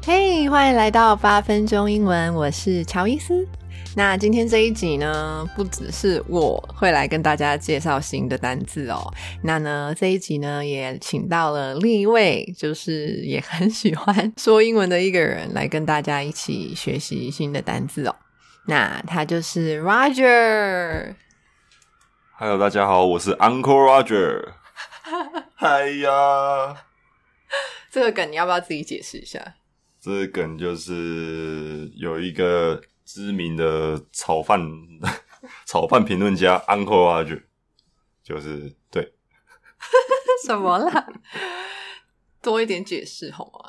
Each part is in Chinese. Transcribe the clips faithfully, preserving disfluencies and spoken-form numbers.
嘿，歡迎來到八分鐘英文，我是喬伊斯。那今天這一集呢，不只是我會來跟大家介紹新的單字哦，那呢這一集呢也請到了另一位，就是也很喜歡說英文的一個人來跟大家一起學習新的單字哦。那他就是 Roger。Hello， 大家好，我是 Uncle Roger。嗨呀， 這個梗你要不要自己解釋一下？ 這個梗就是有一個知名的炒飯炒飯評論家 Uncle Roger， 就是對什麼啦？多一點解釋好嗎？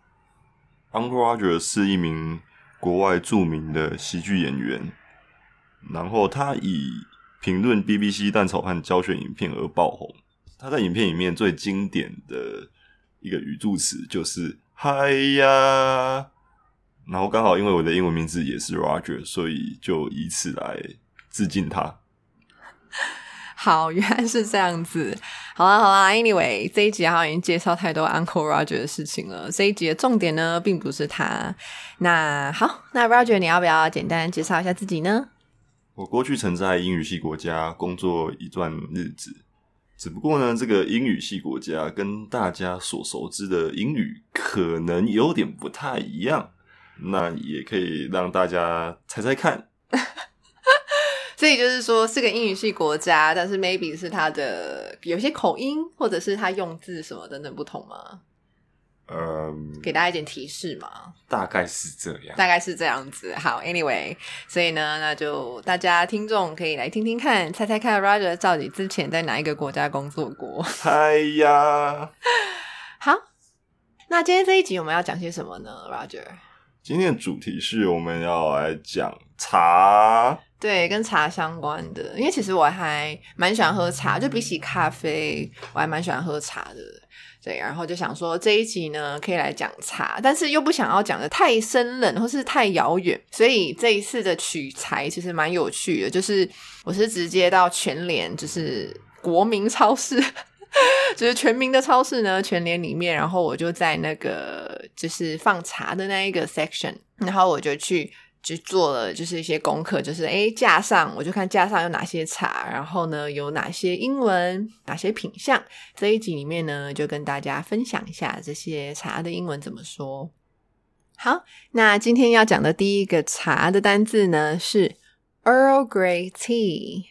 Uncle Roger 是一名國外著名的喜劇演員，然後他以評論 B B C 蛋炒飯教學影片而爆紅。他在影片裡面最經典的一個語助詞就是嗨呀，然後剛好因為我的英文名字也是 Roger， 所以就以此來致敬他。 好，原來是這樣子。好啦好啦 anyway 這一集好像已經介紹太多 Uncle Roger 的事情了，這一集的重點呢並不是他。那好，那 Roger 你要不要簡單介紹一下自己呢？ 我過去曾在英語系國家工作一段日子，只不過呢，這個英語系國家跟大家所熟知的英語可能有點不太一樣，那也可以讓大家猜猜看。 所以就是說是個英語系國家，但是 maybe 是它的有些口音或者是它用字什麼等等不同嗎？ 嗯， 給大家一點提示嘛。 大概是這樣， 大概是這樣子。好 anyway 所以呢，那就大家聽眾可以來聽聽看，猜猜看 Roger 到底之前在哪一個國家工作過。 哎呀， 好，那今天這一集我們要講些什麼呢 Roger？ 今天的主題是我們要來講茶。 對，跟茶相關的，因為其實我還蠻喜歡喝茶，就比起咖啡我還蠻喜歡喝茶的。對，然後就想說這一集呢可以來講茶，但是又不想要講得太生冷或是太遙遠，所以這一次的取材其實蠻有趣的，就是我是直接到全聯，就是國民超市就是全民的超市呢，全聯裡面，然後我就在那個就是放茶的那一個 section， 然後我就去就做了就是一些功課，就是誒架上我就看架上有哪些茶，然後呢有哪些英文，哪些品項，這一集裡面呢就跟大家分享一下這些茶的英文怎麼說。好，那今天要講的第一個茶的單字呢是 Earl Grey Tea。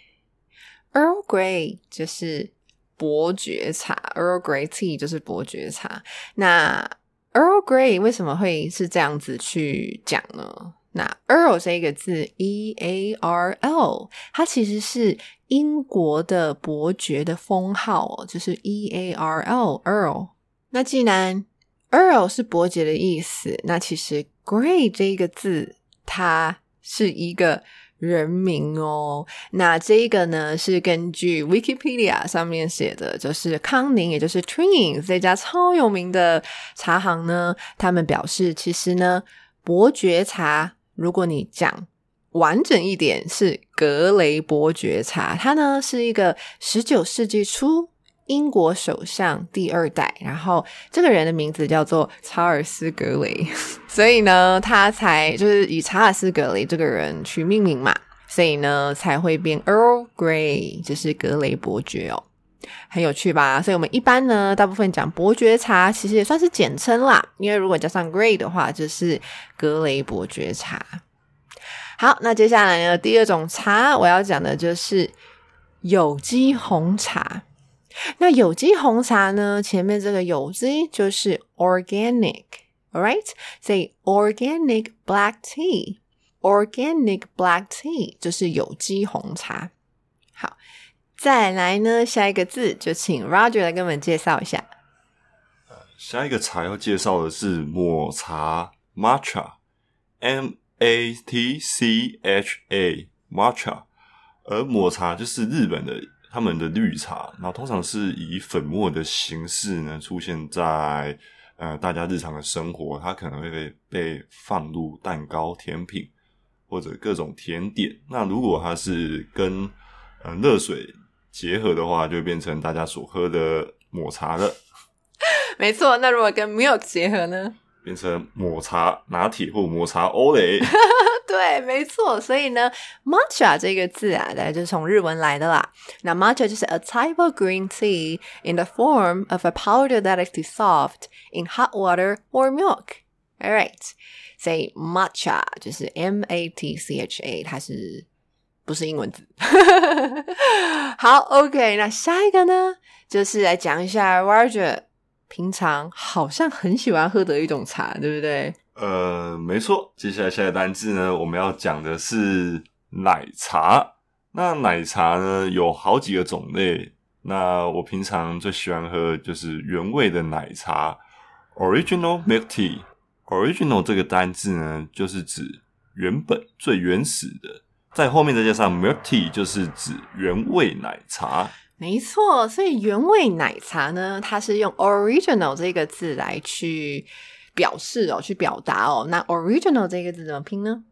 Earl Grey 就是伯爵茶， Earl Grey Tea 就是伯爵茶。那 Earl Grey 為什麼會是這樣子去講呢？那 Earl 這個字 E A R L 它其實是英國的伯爵的封號哦，就是 E A R L Earl。 那既然 Earl 是伯爵的意思，那其實 Grey 這個字它是一個人名哦。那這個呢是根據 Wikipedia 上面寫的，就是康寧也就是 Twins 這家超有名的茶行呢，他們表示其實呢伯爵茶如果你講完整一點是格雷伯爵茶，他呢是一個十九世紀初英國首相第二代，然後這個人的名字叫做查爾斯格雷，所以呢他才就是以查爾斯格雷這個人去命名嘛，所以呢才會變 Earl Grey， 就是格雷伯爵哦。很有趣吧？所以我們一般呢大部分講伯爵茶其實也算是簡稱啦，因為如果加上 Grey 的話就是格雷伯爵茶。好，那接下來呢第二種茶我要講的就是有機紅茶。那有機紅茶呢前面這個有機就是 organic， alright？ 所以 organic black tea， organic black tea 就是有機紅茶。好，再來呢下一個字就請 Roger 來跟我們介紹一下。 下一個茶要介紹的是抹茶 Matcha M A T C H A Matcha， 而抹茶就是日本的他們的綠茶，然後通常是以粉末的形式呢出現在呃大家日常的生活，它可能會被被放入蛋糕、甜品或者各種甜點。那如果它是跟呃熱水結合的話，就會變成大家所喝的抹茶了。 沒錯，那如果跟 milk 結合呢？ 變成抹茶拿鐵或抹茶歐蕾。 對，沒錯。所以呢 matcha 這個字啊，大概就是從日文來的啦。那 matcha 就是 a type of green tea in the form of a powder that is dissolved in hot water or milk. Alright, 所以 matcha 就是 M A T C H A， 它是不是英文字？好 OK， 那下一個呢，就是來講一下 Roger 平常好像很喜歡喝的一種茶，對不對？ 呃，沒錯。接下來下一個單字呢，我們要講的是奶茶。那奶茶呢有好幾個種類，那我平常最喜歡喝的就是原味的奶茶 Original Milk Tea。Original 這個單字呢，就是指原本最原始的，在後面再加上 Milk Tea 就是指原味奶茶。 沒錯，所以原味奶茶呢，它是用 Original 這個字來去表示哦，去表達哦。那 Original 這個字怎麼拼呢？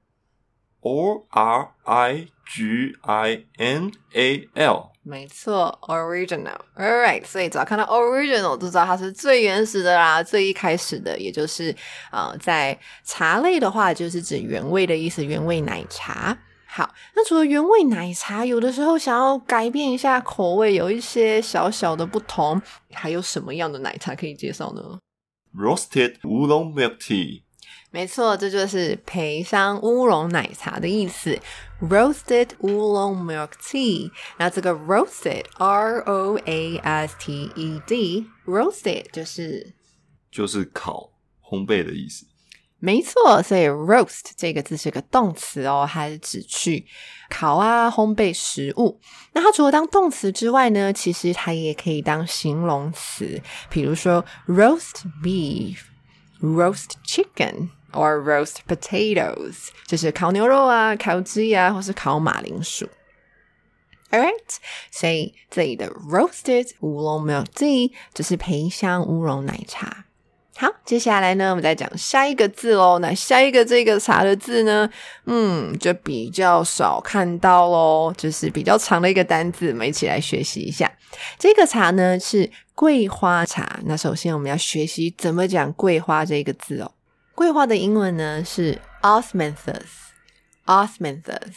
O R I G I N A L。 沒錯 Original。 Alright， 所以只要看到 Original 就知道它是最原始的啦，最一開始的，也就是呃，在茶類的話就是指原味的意思，原味奶茶。好，那除了原味奶茶，有的時候想要改變一下口味，有一些小小的不同，還有什麼樣的奶茶可以介紹呢？ Roasted Oolong Milk Tea。 沒錯，這就是培香烏龍奶茶的意思 Roasted Oolong Milk Tea。 那這個 Roasted R O A S T E D Roasted 就是就是烤烘焙的意思。 沒錯，所以 roast 這個字是個動詞哦，它是指去烤啊烘焙食物。那它除了當動詞之外呢，其實它也可以當形容詞，比如說 roast beef roast chicken or roast potatoes， 就是烤牛肉啊、烤雞啊，或是烤馬鈴薯。Alright， 所以這裡的 roasted oolong milk tea 就是培香烏龍奶茶。好，接下來呢，我們再講下一個字咯。那下一個這個茶的字呢，嗯，就比較少看到咯，就是比較長的一個單字，我們一起來學習一下。這個茶呢是桂花茶。那首先我們要學習怎麼講桂花這個字哦。桂花的英文呢是 Osmanthus Osmanthus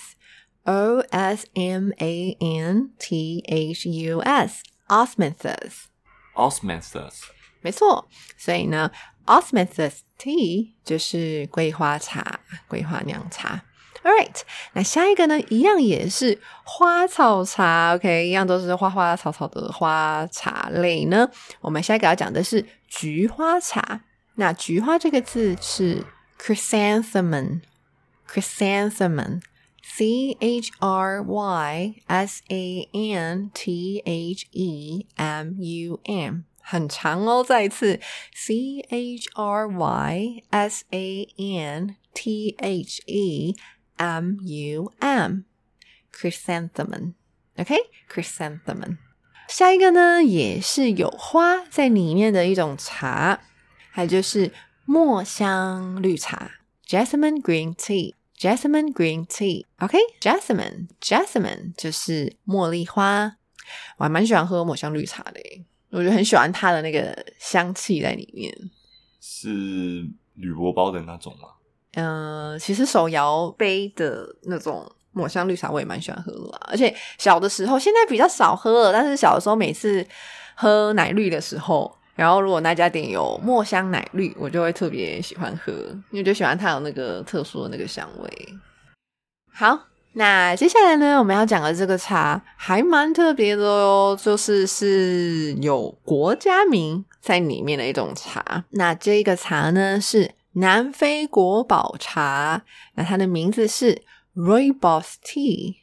O S M A N T H U S Osmanthus Osmanthus 沒錯，所以呢 Osmanthus tea 就是桂花茶，桂花釀茶。Alright， 那下一個呢一樣也是花草茶 OK， 一樣都是花花草草的花茶類呢。我們下一個要講的是菊花茶。那菊花這個字是 chrysanthemum chrysanthemum C H R Y S A N T H E M U M， 很長哦，再一次 C H R Y S A N T H E M U M Chrysanthemum OK Chrysanthemum。 下一個呢也是有花在裡面的一種茶，還有就是墨香綠茶 Jasmine Green Tea Jasmine Green Tea OK Jasmine Jasmine 就是茉莉花。我還蠻喜歡喝墨香綠茶的耶，我覺得很喜歡它的那個香氣在裡面。 是鋁箔包的那种嗎？ 嗯、呃，其實手摇杯的那種墨香綠茶我也蠻喜歡喝的啦，而且小的時候，現在比較少喝了，但是小的時候每次喝奶綠的時候，然後如果那家店有墨香奶綠，我就會特別喜歡喝，因為就喜歡它有那個特殊的那個香味。好，那接下來呢，我們要講的這個茶還蠻特別的哦，就是是有國家名在裡面的一種茶。那這個茶呢是南非國寶茶，那它的名字是 Rooibos Tea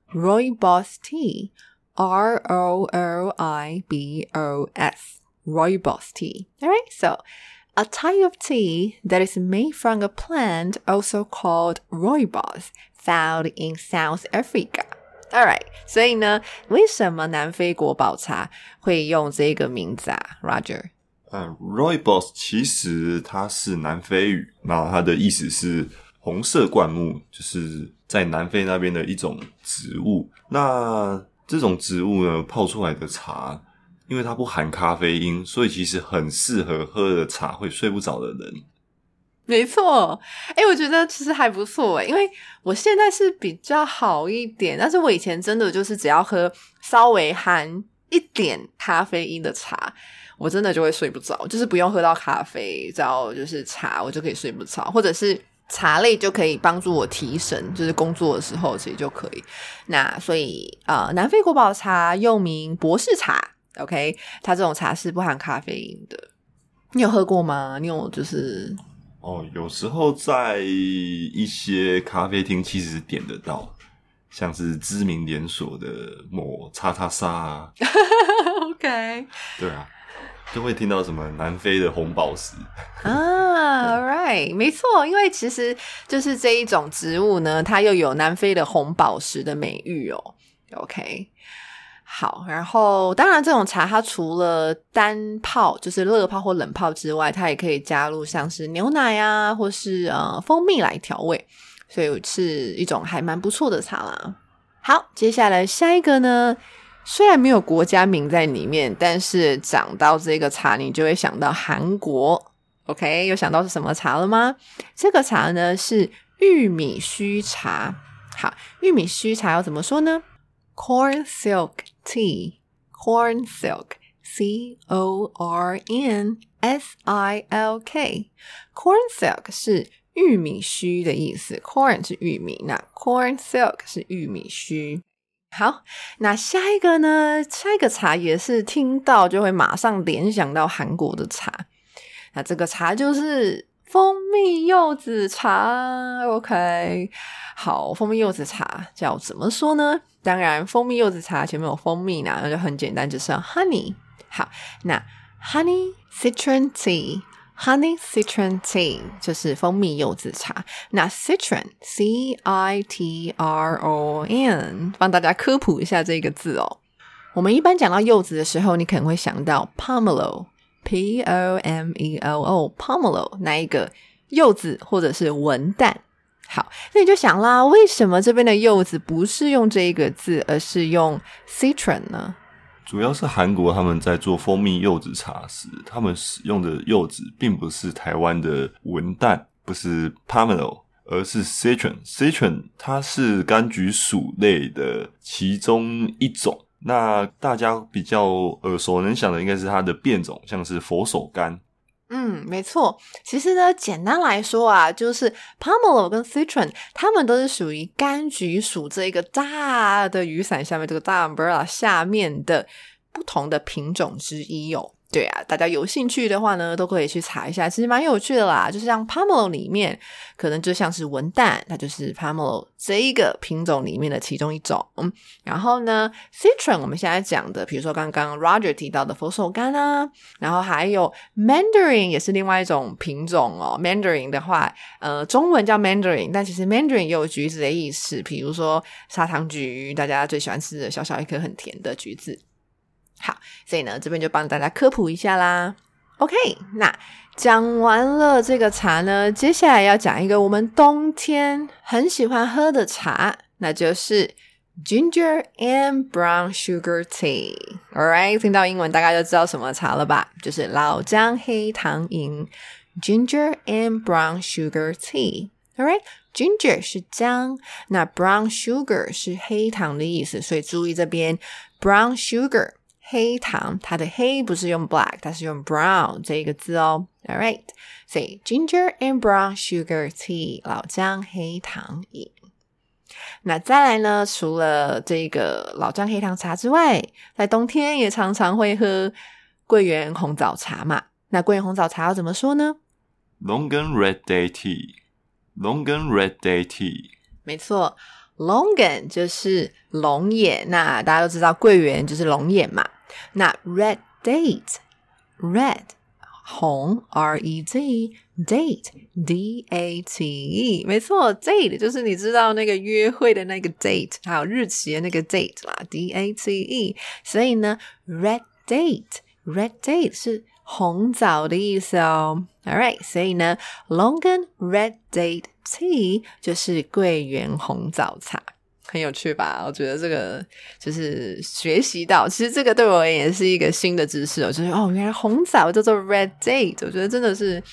Rooibos Tea R O L I B O S Rooibos Tea. Alright, so a type of tea that is made from a plant also called Rooibos found in South Africa. Alright, 所以呢，為什麼南非國寶茶會用這個名字啊 Roger？ 嗯 Rooibos 其實它是南非語，那它的意思是紅色灌木，就是在南非那邊的一種植物。那這種植物呢，泡出來的茶，因為它不含咖啡因，所以其實很適合喝的茶會睡不着的人。 沒錯，哎，我覺得其實還不錯哎，因為我現在是比較好一點，但是我以前真的就是只要喝稍微含一點咖啡因的茶，我真的就會睡不着，就是不用喝到咖啡，只要就是茶，我就可以睡不着，或者是茶類就可以幫助我提神，就是工作的時候其實就可以。那所以呃，南非國寶茶又名博士茶 ，OK， 它這種茶是不含咖啡因的。你有喝過嗎？你有就是哦，有時候在一些咖啡廳其實點得到，像是知名連鎖的某叉叉沙啊 ，OK， 對啊。就會聽到什麼南非的紅寶石啊 ，right， 沒錯，因為其實就是這一種植物呢，它又有南非的紅寶石的美譽哦。OK， 好，然後當然這種茶它除了單泡，就是熱泡或冷泡之外，它也可以加入像是牛奶啊，或是呃蜂蜜來調味，所以是一種還蠻不錯的茶啦。好，接下來下一個呢，雖然沒有國家名在裡面，但是講到這個茶你就會想到韓國。 OK， 有想到是什麼茶了嗎？這個茶呢是玉米鬚茶。好，玉米鬚茶要怎麼說呢？ Corn silk tea， Corn silk C O R N S I L K， Corn silk 是玉米鬚的意思， Corn 是玉米，那 Corn silk 是玉米鬚。好，那下一個呢，下一個茶也是聽到就會馬上聯想到韓國的茶，那這個茶就是蜂蜜柚子茶。 OK， 好，蜂蜜柚子茶叫怎麼說呢？當然蜂蜜柚子茶前面有蜂蜜呢，那就很簡單，就是 honey。 好，那 honey citron tea，Honey Citron Tea 就是蜂蜜柚子茶。那 Citron C I T R O N 幫大家科普一下這個字哦。我們一般講到柚子的時候，你可能會想到 Pomelo P O M E L O Pomelo 那一個柚子或者是文旦。好，那你就想啦，為什麼這邊的柚子不是用這一個字，而是用 Citron 呢？ 主要是韓國他們在做蜂蜜柚子茶時，他們使用的柚子並不是台灣的文旦，不是 Pomelo， 而是 Citron。Citron 它是柑橘屬類的其中一種。那大家比較耳熟能詳的應該是它的變種，像是佛手柑。 嗯，沒錯。其實呢，簡單來說啊，就是 Pomelo 跟 Citron 它們都是屬於柑橘屬這一個大的雨傘下面，這個大 umbrella 下面的不同的品種之一哦。對啊，大家有興趣的話呢，都可以去查一下，其實蠻有趣的啦。就是像 Pomelo 裡面，可能就像是文旦，它就是 Pomelo 這一個品種裡面的其中一種。嗯，然後呢 Citron 我們現在講的，比如說剛剛 Roger 提到的佛手柑啊，然後還有 Mandarin 也是另外一種品種哦。Mandarin 的話，呃，中文叫 Mandarin， 但其實 Mandarin 也有橘子的意思，比如說砂糖橘，大家最喜歡吃的小小一顆很甜的橘子。好，所以呢，這邊就幫大家科普一下啦。OK， 那講完了這個茶呢，接下來要講一個我們冬天很喜歡喝的茶，那就是 Ginger and Brown Sugar Tea。 Alright， 聽到英文大概就知道什麼茶了吧？就是老薑黑糖飲 Ginger and Brown Sugar Tea。 Alright， Ginger 是薑，那 Brown Sugar 是黑糖的意思，所以注意這邊 Brown Sugar黑糖，它的黑不是用 black， 它是用 brown 這個字哦。Alright， 所以 ginger and brown sugar tea 老薑黑糖飲。那再來呢，除了這個老薑黑糖茶之外，在冬天也常常會喝桂圓紅棗茶嘛。那桂圓紅棗茶要怎麼說呢？ Longan Red Day Tea Longan Red Day Tea 沒錯 ，Longan 就是龍眼，那大家都知道桂圓就是龍眼嘛。那 red date red 紅 R E D date D A T E 沒錯， date 就是你知道那個約會的那個 date， 還有日期的那個 date 啦， D A T E。 所以呢 red date red date 是紅棗的意思哦。 Alright， 所以呢 Longan Red Date Tea 就是桂圓紅棗茶，很有趣吧？我覺得這個就是學習到，其實這個對我也是一個新的知識哦，就是哦，原來紅棗叫做 Red Date， 我覺得真的是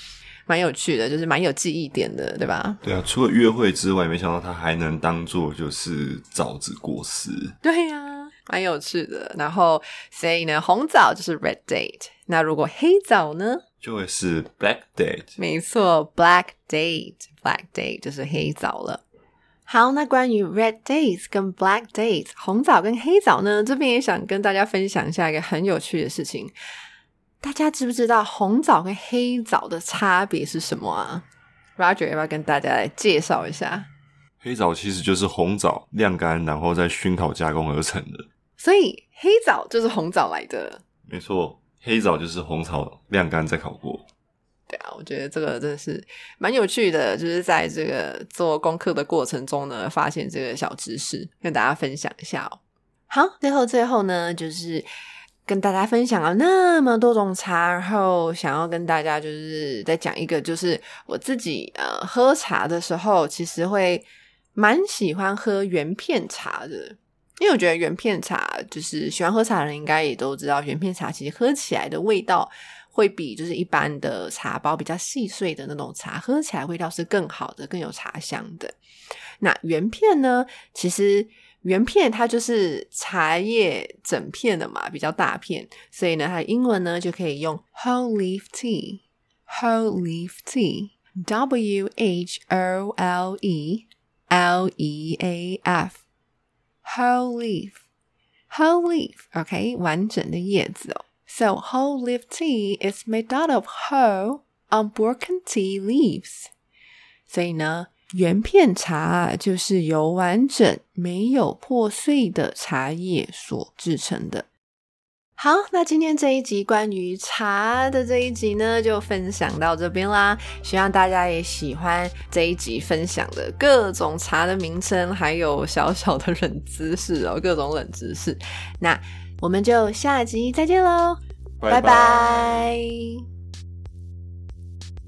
蠻有趣的，就是蠻有記憶點的，對吧？ 對啊，除了約會之外，沒想到它還能當做就是棗子果實。 對呀、啊，蠻有趣的。然後所以呢，紅棗就是 red date， 那如果黑棗呢，就會是 black date。 沒錯 ，black date，black date 就是黑棗了。好，那關於 red dates 跟 black dates 紅棗跟黑棗呢，這邊也想跟大家分享一下一個很有趣的事情。大家知不知道紅棗跟黑棗的差別是什麼啊？ Roger 要不要跟大家來介紹一下？ 黑棗其實就是紅棗晾乾然後再燻烤加工而成的， 所以黑棗就是紅棗來的。 沒錯，黑棗就是紅棗晾乾再烤過。 對啊，我覺得這個真的是蠻有趣的，就是在這個做功課的過程中呢，發現這個小知識，跟大家分享一下哦。好，最後最後呢，就是跟大家分享了那麼多種茶，然後想要跟大家就是再講一個，就是我自己呃喝茶的時候，其實會蠻喜歡喝原片茶的，因為我覺得原片茶就是喜歡喝茶的人應該也都知道，原片茶其實喝起來的味道會比就是一般的茶包比較細碎的那種茶喝起來味道是更好的，更有茶香的。那原片呢，其實原片它就是茶葉整片的嘛，比較大片，所以呢它的英文呢就可以用 whole leaf tea whole leaf tea W H O L E L E A F whole leaf whole leaf OK 完整的葉子哦。So whole leaf tea is made out of whole unbroken tea leaves. 所以呢，原片茶就是由完整沒有破碎的茶葉所製成的。好，那今天這一集關於茶的這一集呢，就分享到這邊啦。希望大家也喜歡這一集分享的各種茶的名稱，還有小小的冷知識哦，各種冷知識。那我們就下集再見嘍，拜拜。